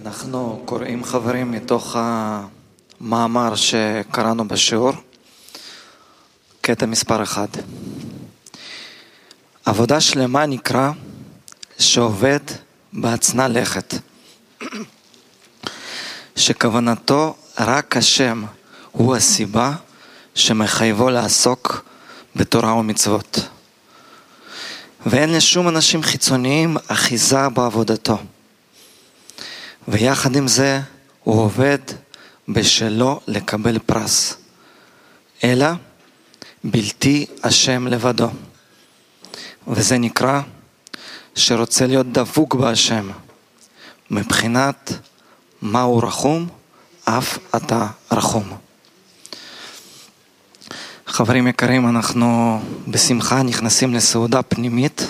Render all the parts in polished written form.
אנחנו קוראים חברים מתוך המאמר שקראנו בשיעור, קטע מספר 1. עבודה שלמה נקרא שעובד בהצנע לכת, שכוונתו רק השם הוא הסיבה שמחייבו לעסוק בתורה ומצוות, ואין לשום אנשים חיצוניים אחיזה בעבודתו, ויחד עם זה הוא עובד בשלו לקבל פרס, אלא בלתי השם לבדו. וזה נקרא שרוצה להיות דבוק בהשם, מבחינת מהו רחום, אף אתה רחום. חברים יקרים, אנחנו בשמחה נכנסים לסעודה פנימית.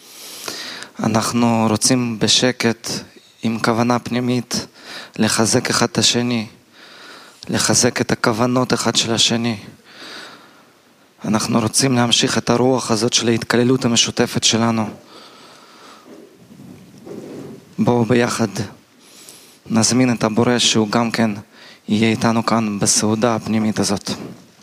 אנחנו רוצים בשקט, עם כוונה פנימית, לחזק אחד את השני, לחזק את הכוונות אחד של השני. אנחנו רוצים להמשיך את הרוח הזאת של ההתקללות המשותפת שלנו. בואו ביחד נזמין את הבורא שהוא גם כן יהיה איתנו כאן בסעודה הפנימית הזאת.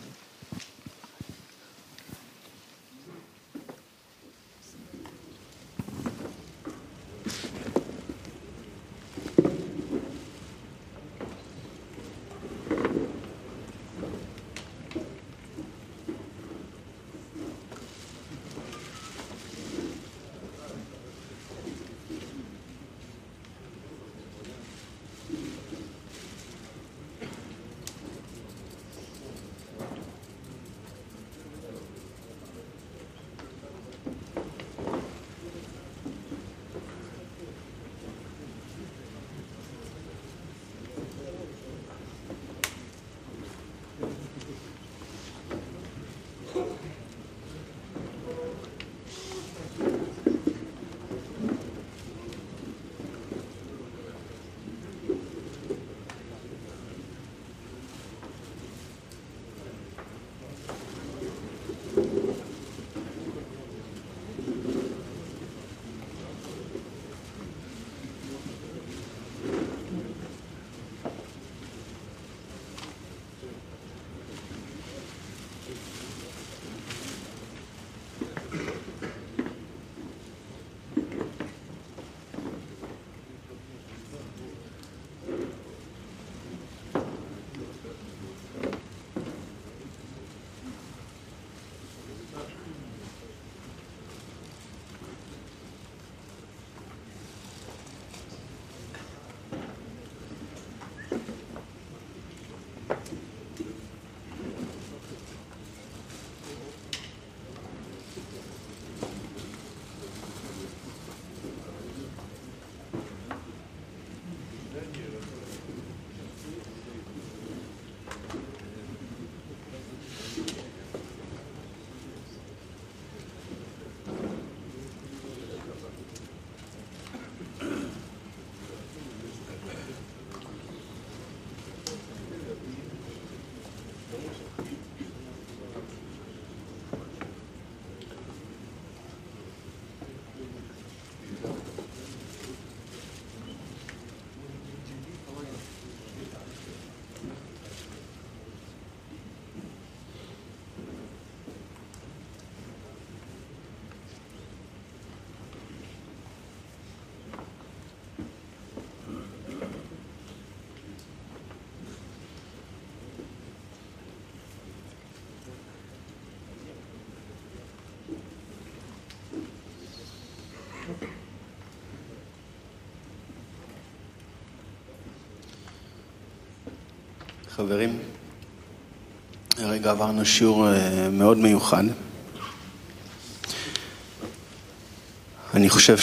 חברים, הרגע עברנו שיעור מאוד מיוחד. אני חושב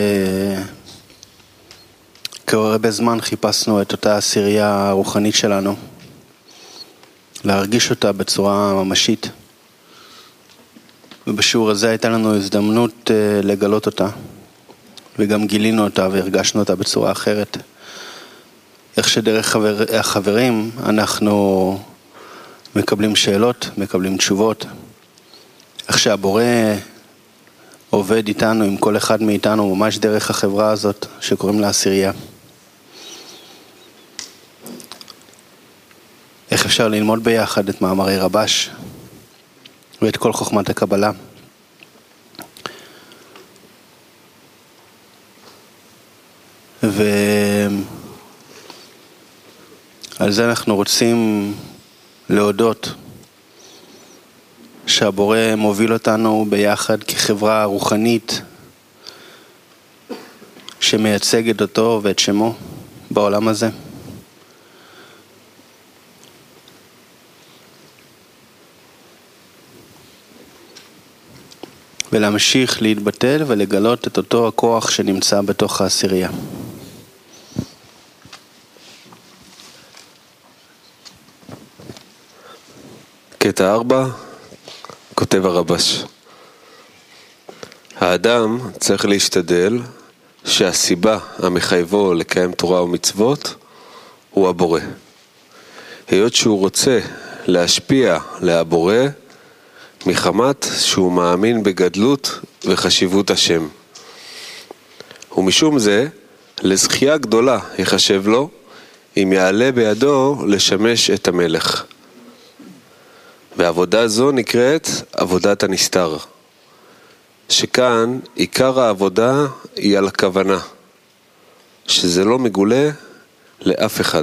כהרבה זמן חיפשנו את אותה עשירייה הרוחנית שלנו, להרגיש אותה בצורה ממשית. ובשיעור הזה הייתה לנו הזדמנות לגלות אותה, וגם גילינו אותה והרגשנו אותה בצורה אחרת. איך שדרך החברים אנחנו מקבלים שאלות, מקבלים תשובות. איך שהבורא עובד איתנו, עם כל אחד מאיתנו, ממש דרך החברה הזאת שקוראים לה עשירייה. איך אפשר ללמוד ביחד את מאמרי רבש ואת כל חוכמת הקבלה. ועל זה אנחנו רוצים להודות שהבורא מוביל אותנו ביחד כחברה רוחנית שמייצגת אותו ואת שמו בעולם הזה. ולהמשיך להתבטל ולגלות את אותו הכוח שנמצא בתוך העשירייה. קטע 4, כותב הרבש. האדם צריך להשתדל שהסיבה המחייבו לקיים תורה ומצוות הוא הבורא. היות שהוא רוצה להשפיע להבורא מחמת שהוא מאמין בגדלות וחשיבות השם. ומשום זה, לזכייה גדולה יחשב לו אם יעלה בידו לשמש את המלך. ועבודה זו נקראת עבודת הנסתר, שכאן עיקר העבודה היא על הכוונה, שזה לא מגולה לאף אחד.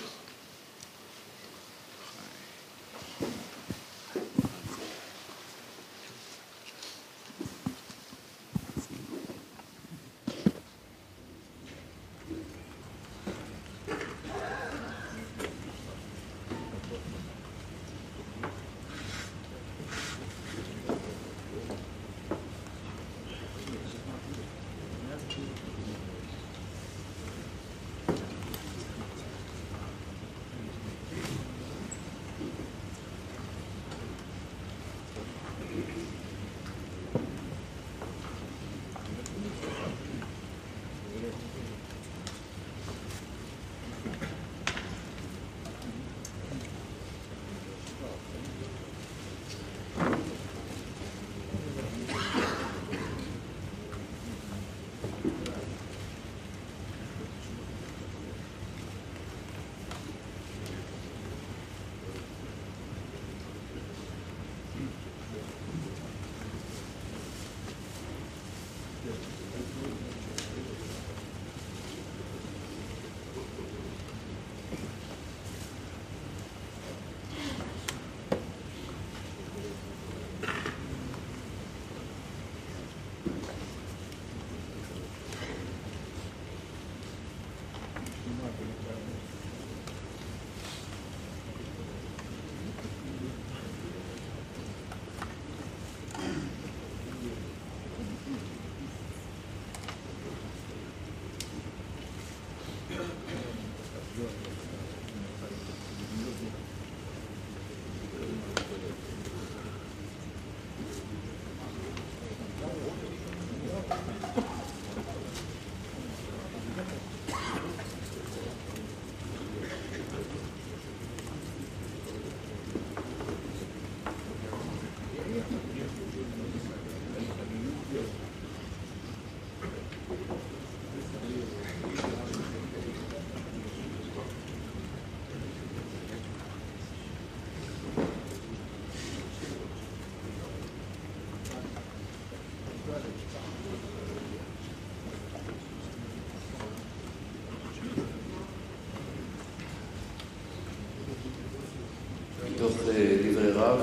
מתוך דברי רב,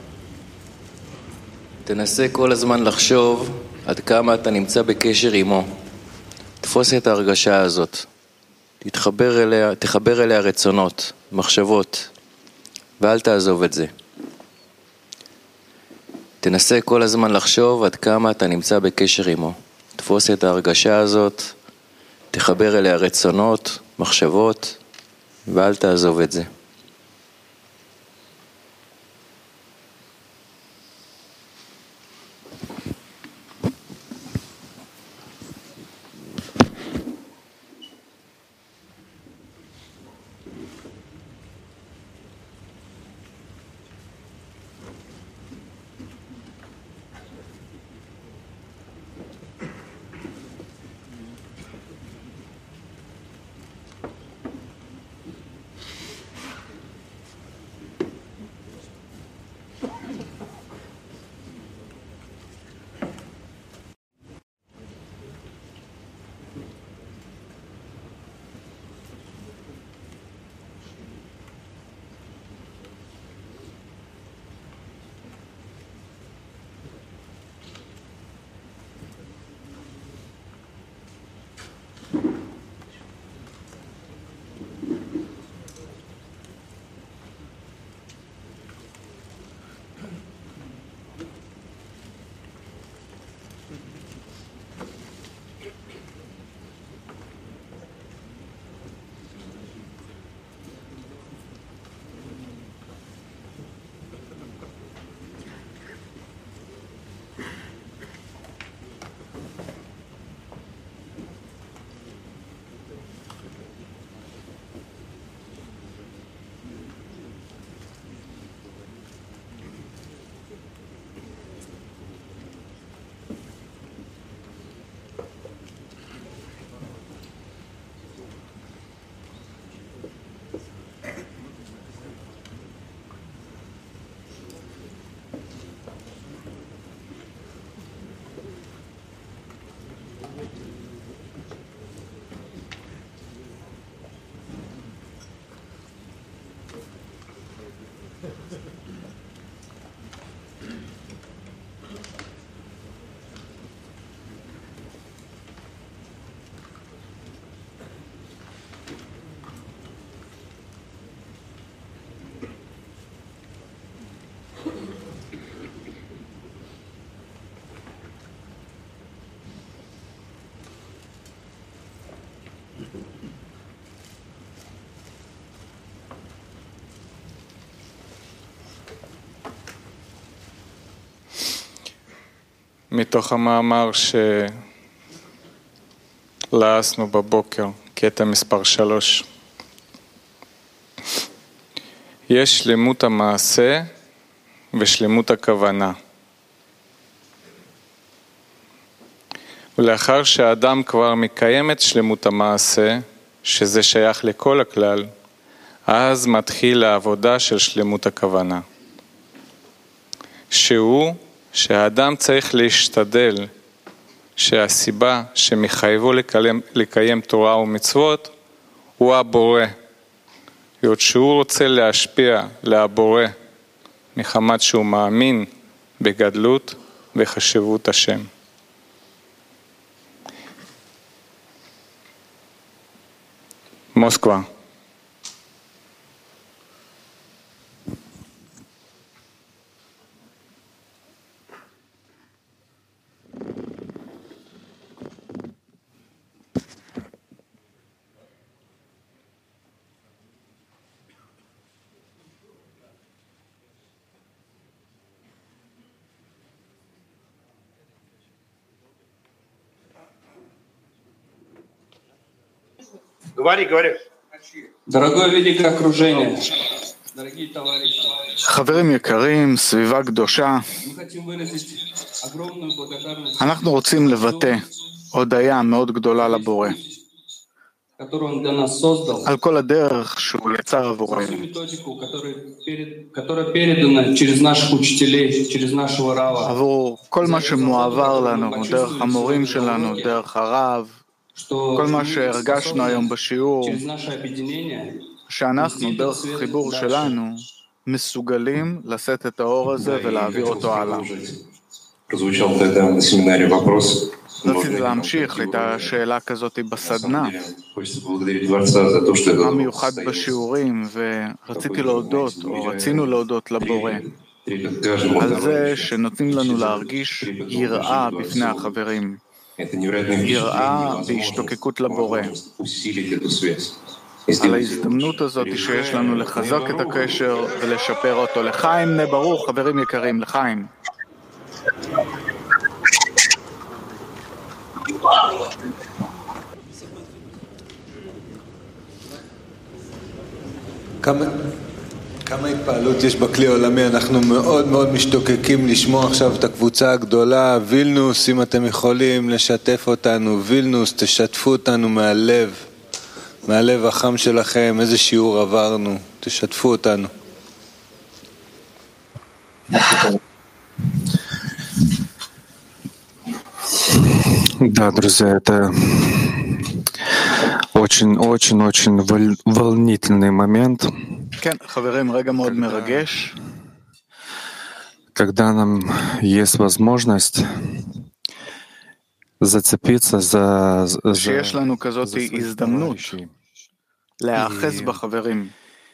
תנסה כל הזמן לחשוב עד כמה אתה נמצא בקשר עמו. תפוס את ההרגשה הזאת, תחבר אליה רצונות, מחשבות, ואל תעזוב את זה. תנסה כל הזמן לחשוב עד כמה אתה נמצא בקשר עמו. תפוס את ההרגשה הזאת, תחבר אליה רצונות, מחשבות, ואל תעזוב את זה. מתוך המאמר שלעסנו בבוקר, קטע מספר 3. יש שלמות המעשה ושלמות הכוונה. ולאחר שהאדם כבר מקיים את שלמות המעשה, שזה שייך לכל הכלל, אז מתחיל העבודה של שלמות הכוונה. שהאדם צריך להשתדל שהסיבה שמחייבו לקיים תורה ומצוות הוא הבורא. היות שהוא רוצה להשפיע להבורא מחמת שהוא מאמין בגדלות וחשיבות השם. מוסקבה. Говори. Дорогое великое окружение, дорогие товарищи, חברים יקרים, סביבה קדושה, мы хотим выразить огромную благодарность, אנחנו רוצים לבטא הודיה מאוד גדולה לבורא, которую он для нас создал, על כל הדרך שהוא יצר за עבורנו, всю методику, которая передана через наших учителей, через нашего рава, עבור כל מה שמועבר לנו, דרך המורים שלנו, דרך הרב, что כל מה שהרגשנו היום בשיעור, через наше объединение שאנחנו דרך החיבור שלנו מסוגלים לשאת את האור הזה ולהעביר אותו הלאה. Прозвучал тогда на семинаре вопрос. רציתי להמשיך את השאלה כזאת בסדנה, Хочется поблагодарить Творца за то, что это המיוחד בשיעורים, ורציתי להודות, או רצינו להודות לבורא, על זה שנותנים לנו להרגיש יראה בפני החברים, יראה בהשתוקקות לבורא, על ההזדמנות הזאת שיש לנו לחזק את הקשר ולשפר אותו. לחיים בני ברוך, חברים יקרים, לחיים. כמה התפעלות יש בכלי העולמי, אנחנו מאוד מאוד משתוקקים לשמוע עכשיו את הקבוצה הגדולה. וילנוס, אם אתם יכולים לשתף אותנו, וילנוס, תשתפו אותנו מהלב החם שלכם, איזה שיעור עברנו, תשתפו אותנו. Да, друзья, это очень-очень-очень волнительный момент, כן, חברים, רגע מאוד מרגש, когда нам есть возможность зацепиться за שיש לנו כזאת своих הזדמנות товарищей להאחז בחברים,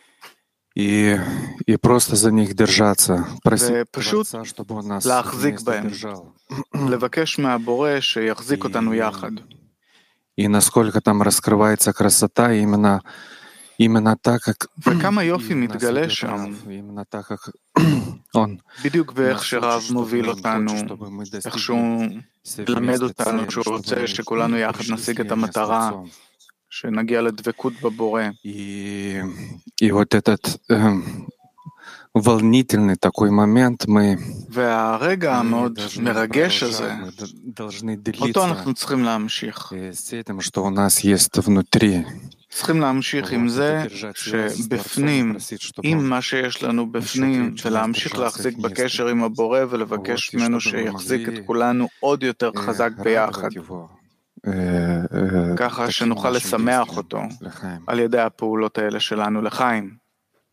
и просто за них держаться, просить ופשוט Творца, чтобы он нас להחזיק вместе בהם, держал. לבקש מהבורא שיחזיק אותנו יחד. И насколько там раскрывается красота именно так, как וכמה יופי нас מתגלה ведет שם, Рав, именно так, как он בדיוק באיך нас שרב учит, что מוביל он אותנו, хочет, чтобы мы איך достигли שהוא מלמד совместной אותנו, цели, שהוא чтобы רוצה мы שכולנו יחד пришли נשיג את слияния с המטרה, Творцом. שנגיע לדבקות בבורא. И вот этот волнительный такой момент мы והרגע המאוד должны מרגש הזה, продолжать, мы должны אותו делиться אנחנו צריכים להמשיך. с этим, что у нас есть внутри. צריכים להמשיך עם זה שבפנים, עם מה שיש לנו בפנים, ולהמשיך להחזיק בקשר עם הבורא ולבקש ממנו שיחזיק את כולנו עוד יותר חזק ביחד, ככה שנוכל לשמח אותו על ידי הפעולות האלה שלנו לחיים.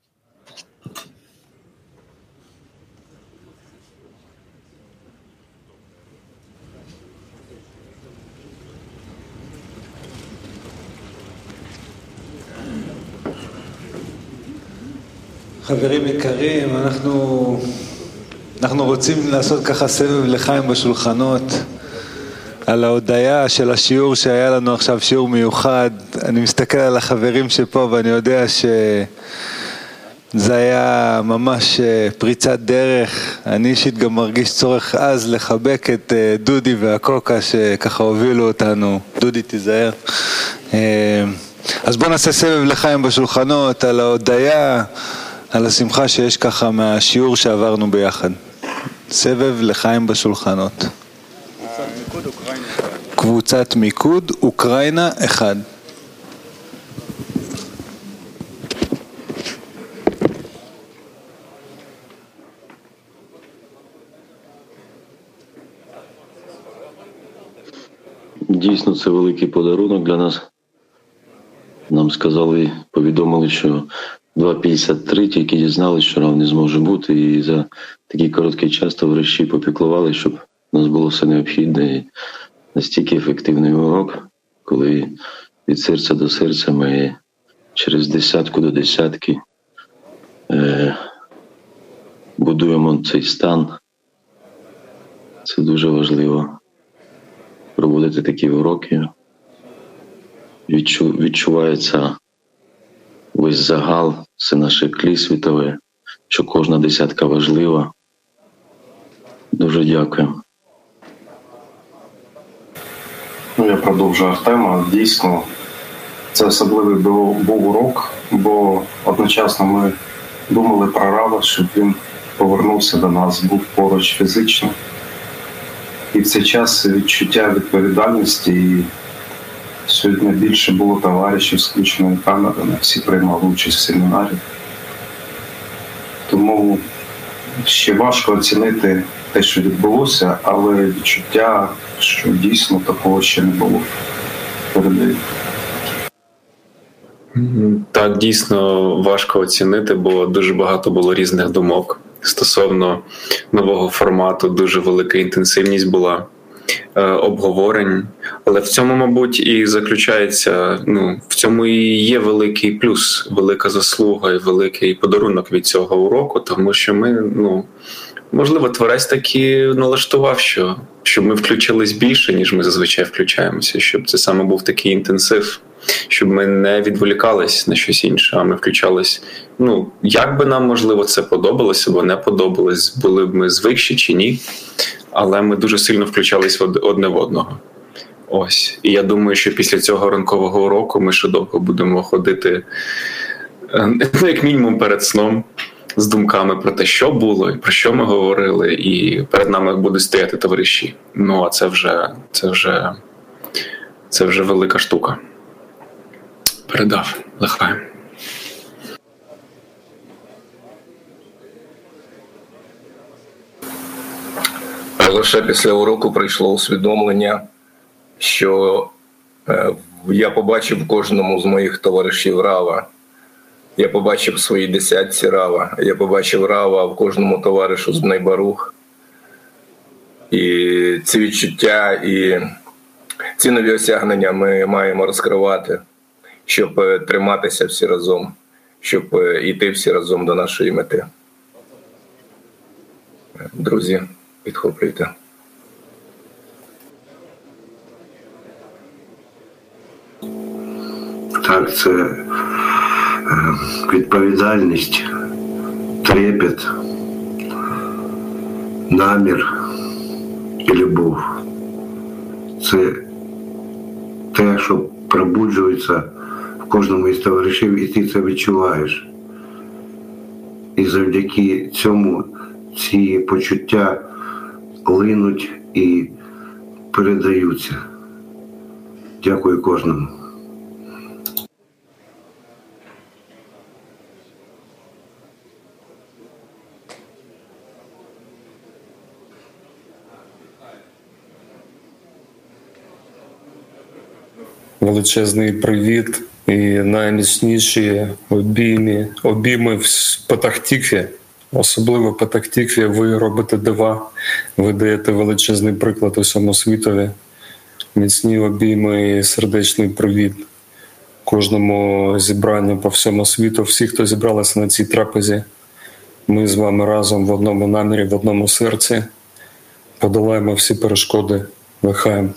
חברים יקרים, אנחנו רוצים לעשות ככה סבב לחיים בשולחנות על ההודיה של השיעור שהיה לנו עכשיו, שיעור מיוחד. אני מסתכל על החברים שפה ואני יודע זה היה ממש פריצת דרך. אני אישית גם מרגיש צורך אז לחבק את דודי והקוקה שככה הובילו אותנו. דודי תיזהר. אז בוא נעשה סבב לחיים בשולחנות על ההודעה, על השמחה שיש ככה מהשיעור שעברנו ביחד. סבב לחיים בשולחנות. קבוצת מיקוד אוקראינה 1. Дійсно, це великий подарунок для нас. Нам сказали, повідомили, що 2.53, тільки дізналися, що рав не зможе бути, і за такий короткий час товариші попіклували, щоб у нас було все необхідне. І настільки ефективний урок, коли від серця до серця ми через десятку до десятки будуємо цей стан. Це дуже важливо. Проводити такі уроки, відчувається весь загал, це наше тлі світове, що кожна десятка важлива. Дуже дякую. Я продовжу Артема. Дійсно, це особливий був урок, бо одночасно ми думали про Рава, щоб він повернувся до нас, був поруч фізично. І в цей час відчуття відповідальності, і сьогодні більше було товаришів з включеною камерою, всі приймали участь в семінарі. Тому ще важко оцінити те, що відбулося, але відчуття, що дійсно такого ще не було. Передаю. Так, дійсно важко оцінити, бо дуже багато було різних думок. Стосовно нового формату, дуже велика інтенсивність була обговорень. Але в цьому, мабуть, і заключається, в цьому і є великий плюс, велика заслуга і великий подарунок від цього уроку, тому що ми, можливо, творець таки налаштував, щоб ми включились більше, ніж ми зазвичай включаємося, щоб це саме був такий інтенсив, щоб ми не відволікались на щось інше, а ми включались. Як би нам, можливо, це подобалося або не подобалось, були б ми звикші чи ні, але ми дуже сильно включались одне в одного. Ось. І я думаю, що після цього ранкового уроку ми ще довго будемо ходити, як мінімум перед сном, з думками про те, що було, і про що ми говорили, і перед нами будуть стояти товариші. А це вже велика штука. Передав. Лихаєм. Лише після уроку прийшло усвідомлення, що я побачив кожному з моїх товаришів Рава. Я побачив в своїй десятці Рава. Я побачив Рава в кожному товаришу з Бней Барух. І ці відчуття і ці нові осягнення ми маємо розкривати, щоб триматися всі разом, щоб йти всі разом до нашої мети. Друзі, підхоплюйте. Так, це відповідальність, трепет, намір і любов. Це те, що пробуджується в кожному із товаришів, і ти це відчуваєш. І завдяки цьому ці почуття линуть і передаються. Дякую кожному. Величезний привіт і найміцніші обійми в Петах-Тікві. Особливо в Петах-Тікві ви робите дива, ви даєте величезний приклад усьому світові. Міцні обійми і сердечний привіт кожному зібранню по всьому світу. Всі, хто зібралися на цій трапезі, ми з вами разом в одному намірі, в одному серці. Подолаємо всі перешкоди. Лихаєм.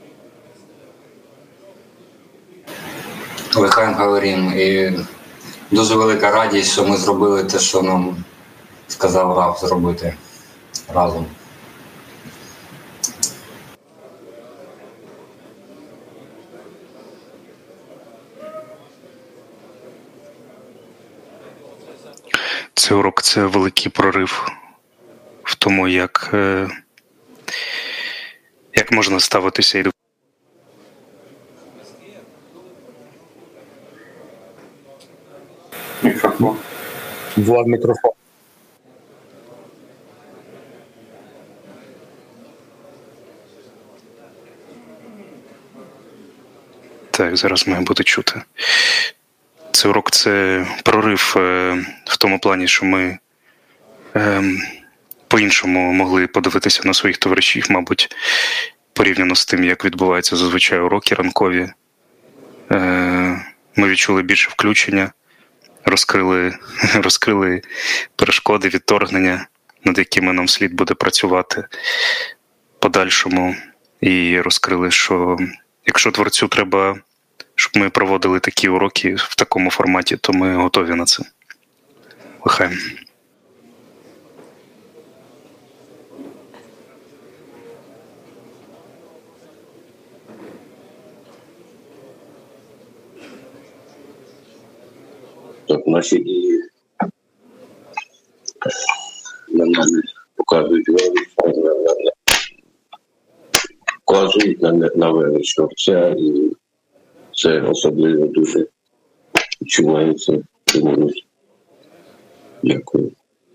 Лихаем говорим, и дуже велика радість, що ми зробили те, що нам сказав Рав зробити разом. Цей урок – це великий прорив в тому, як можна ставитися і до Мікрофон. Влад, мікрофон. Так, зараз має бути чути. Цей урок – це прорив в тому плані, що ми по-іншому могли подивитися на своїх товаришів, мабуть, порівняно з тим, як відбуваються зазвичай уроки ранкові. Ми відчули більше включення, розкрили перешкоди, відторгнення, над якими нам слід буде працювати подальшому. І розкрили, що якщо творцю треба, щоб ми проводили такі уроки в такому форматі, то ми готові на це. Лихаєм. Так, наші дії показують на велич Творця, і це особливо дуже відчувається. Дякую.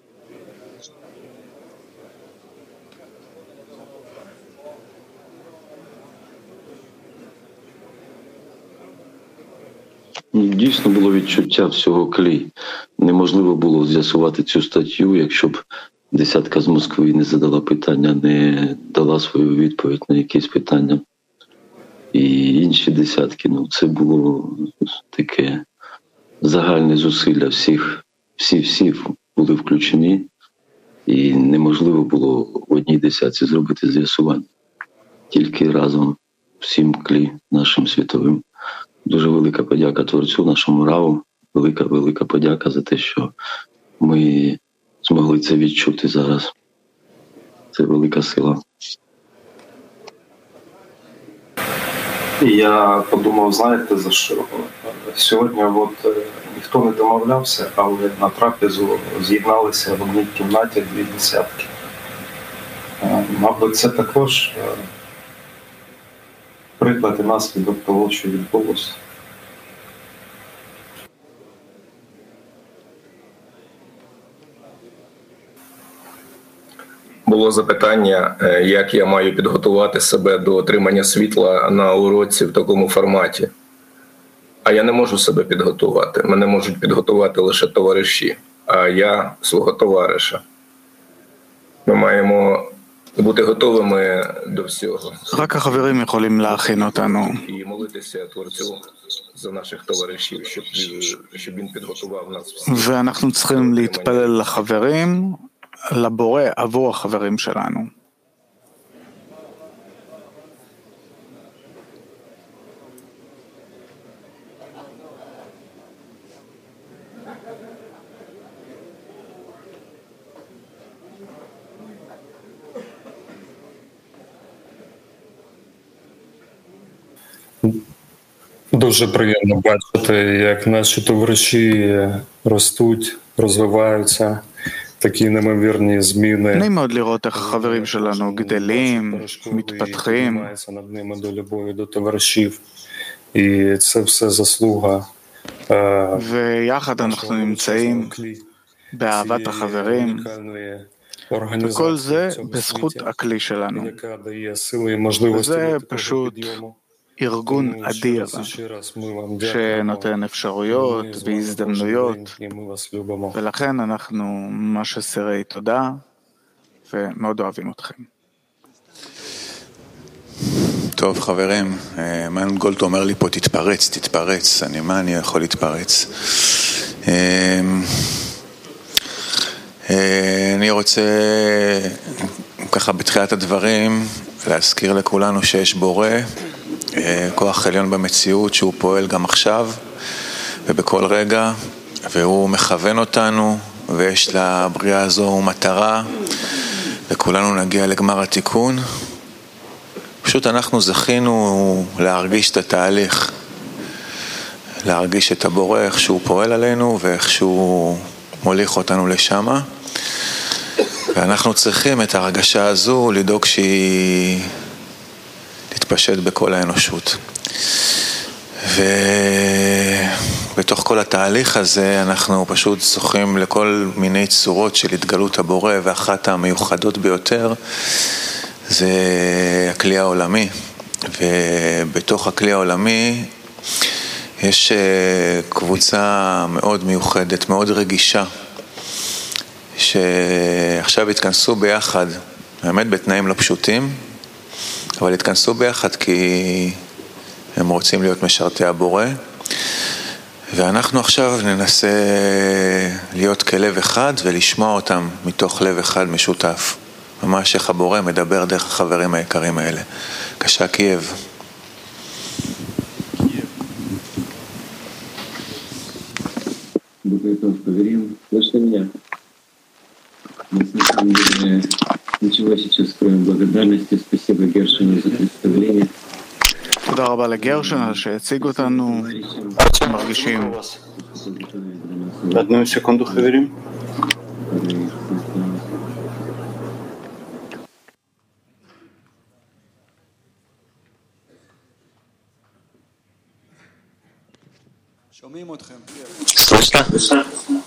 Дійсно було відчуття всього клі. Неможливо було з'ясувати цю статтю, якщо б десятка з Москви не задала питання, не дала свою відповідь на якісь питання. І інші десятки, це було таке загальне зусилля всі були включені, і неможливо було в одній десятці зробити з'ясування. Тільки разом всім клі нашим світовим. Дуже велика подяка Творцю, нашому Раву, велика подяка за те, що ми змогли це відчути зараз. Це велика сила. Я подумав, знаєте, за що? Сьогодні ніхто не домовлявся, але на трапезу з'єдналися в одній кімнаті 2 десятки. Мабуть, це також приклад і наслідок того, що відбулося. Було запитання, як я маю підготувати себе до отримання світла на уроці в такому форматі. А я не можу себе підготувати. Мене можуть підготувати лише товариші, а я свого товариша. Ми маємо бути готовими до всього. רק החברים יכולים להכין אותנו. І молитися Творцю за наших товаришів, щоб він підготував нас всіх. ואנחנו צריכים להתפלל לחברים, לבורא עבור החברים שלנו. Дуже приємно бачити, як наші товариші ростуть, розвиваються, такі неймовірні зміни. נעים מאוד לראות איך החברים שלנו גדלים, מתפתחים. над ними до любові до товаришів. І це все заслуга. ויחד אנחנו נמצאים באהבת החברים. וכל זה בזכות הכלי שלנו. וזה פשוט ארגון אדיר שנותן אפשרויות והזדמנויות, ולכן אנחנו ממש אסירי תודה ומאוד אוהבים אתכם. טוב חברים, מעיין גולט אומר לי פה תתפרץ, מה אני יכול להתפרץ? אני רוצה ככה בתחילת הדברים להזכיר לכולנו שיש בורא, כוח עליון במציאות שהוא פועל גם עכשיו ובכל רגע, והוא מכוון אותנו, ויש לבריאה הזו מטרה, וכולנו נגיע לגמר התיקון. פשוט אנחנו זכינו להרגיש את התהליך, להרגיש את הבורא, איך שהוא פועל עלינו ואיך שהוא מוליך אותנו לשם. ואנחנו צריכים את הרגשה הזו לדאוג שהיא תתפשט בכל האנושות. ובתוך כל התהליך הזה אנחנו פשוט זוכים לכל מיני צורות של התגלות הבורא, ואחת המיוחדות ביותר זה הכלי העולמי. ובתוך הכלי העולמי יש קבוצה מאוד מיוחדת, מאוד רגישה, שעכשיו התכנסו ביחד, באמת בתנאים לא פשוטים, אבל התכנסו ביחד כי הם רוצים להיות משרתי הבורא, ואנחנו עכשיו ננסה להיות כלב אחד ולשמוע אותם מתוך לב אחד משותף. ממש איך הבורא מדבר דרך החברים היקרים האלה. בבקשה, קייב. Слышно меня? Мы с самом деле ничего сейчас, кроме благодарности. Спасибо Гершину за представление. תודה רבה לגרשן שהציג אותנו, מרגישים. одну секунду, חברים. Слышно?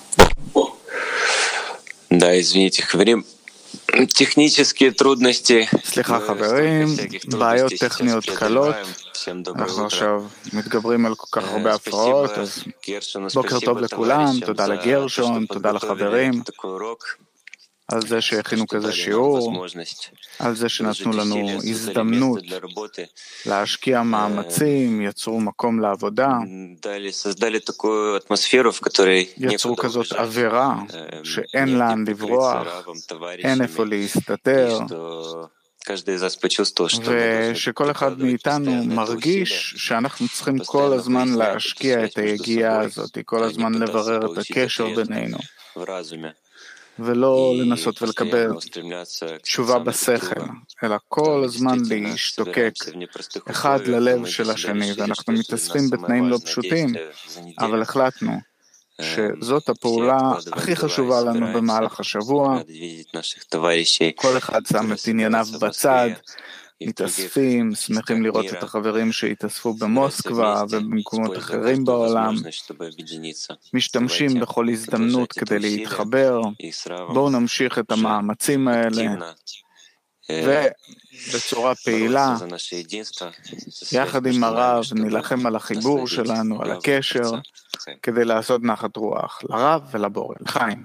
Да, извините, говорим. Технические трудности. סליחה חברים, בעיות טכניות קלות. אנחנו עכשיו מתגברים על כל כך הרבה הפרעות, אז בוקר טוב לכולם, תודה לגרשון, תודה לחברים, על זה שהכינו כזה שיעור, על זה שנתנו לנו הזדמנות להשקיע מאמצים, יצרו מקום לעבודה, יצרו כזאת אווירה שאין לאן לברוח, אין איפה להסתתר, ושכל אחד מאיתנו מרגיש שאנחנו צריכים כל הזמן להשקיע את היגיעה הזאת, כל הזמן לברר את הקשר בינינו. ולא לנסות ולקבל תשובה בשכל, אלא כל הזמן להשתוקק אחד ללב של השני, ואנחנו מתאספים בתנאים לא פשוטים, אבל החלטנו שזאת הפעולה הכי חשובה לנו במהלך השבוע. כל אחד שם את ענייניו בצד, מתאספים, שמחים לראות את החברים שהתאספו במוסקבה ובמקומות אחרים בעולם, משתמשים בכל הזדמנות כדי להתחבר. בואו נמשיך את המאמצים האלה ובצורה פעילה יחד עם הרב נילחם על החיבור שלנו, על הקשר, כדי לעשות נחת רוח לרב ולבורא. לחיים.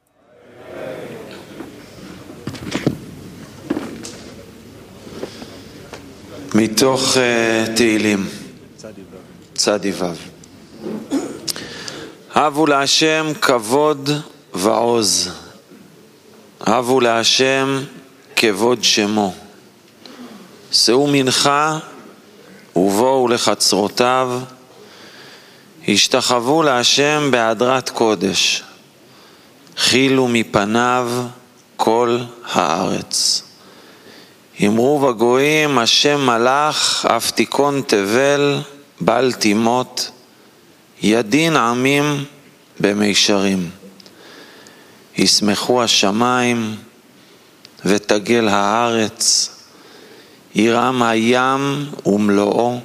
מתוך תהילים, צדי וו. הבו להשם כבוד ועוז, הבו להשם כבוד שמו, שאו מנחה ובואו לחצרותיו, השתחוו להשם בהדרת קודש, חילו מפניו כל הארץ. אמרו בגויים, השם מלך, אף תיכון תבל, בל תימות, ידין עמים במישרים. ישמחו השמיים ותגל הארץ, ירעם הים ומלואו,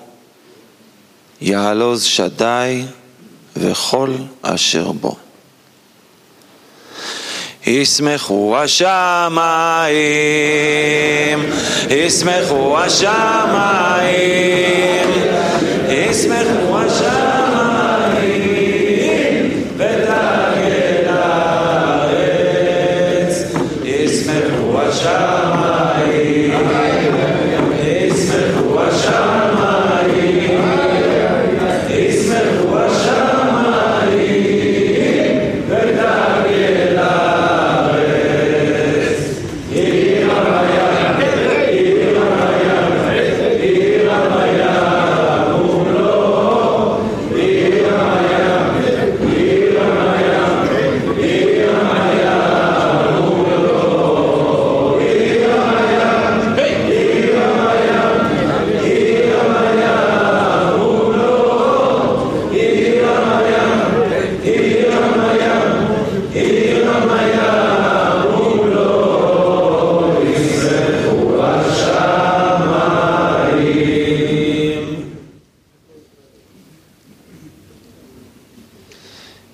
יעלוז שדי וכל אשר בו. ישמחו השמיים, ישמחו השמיים, ישמחו השמיים, ותגל הארץ, ישמחו השמיים, ישמחו השמיים, ישמחו השמיים, ותגל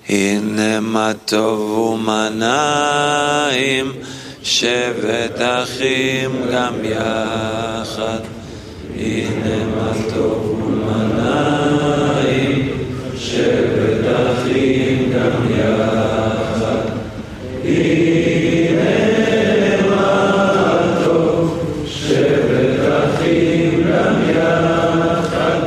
הנה מה טוב ומה נעים, שבת אחים גם יחד. הנה מה טוב ומה נעים, שבת אחים גם יחד. הנה מה טוב, שבת אחים גם יחד.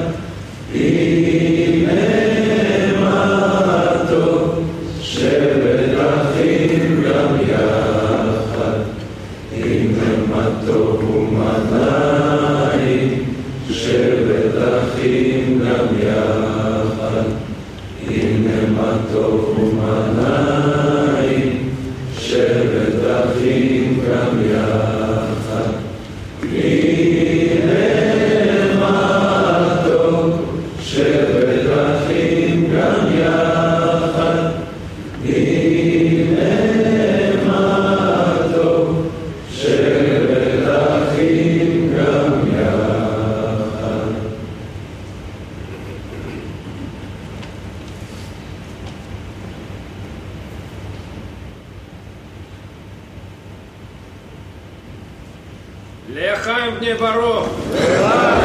הנה מה טוב, שבת אחים גם יחד. הנה מה טוב ומה נעים, שבת אחים גם יחד. הנה מה טוב ומה נעים, שבת אחים גם יחד. הנה מה טוב, שבת אחים גם יחד. הנה מה טוב, שבת אחים גם יחד. לחיים בני ברוך.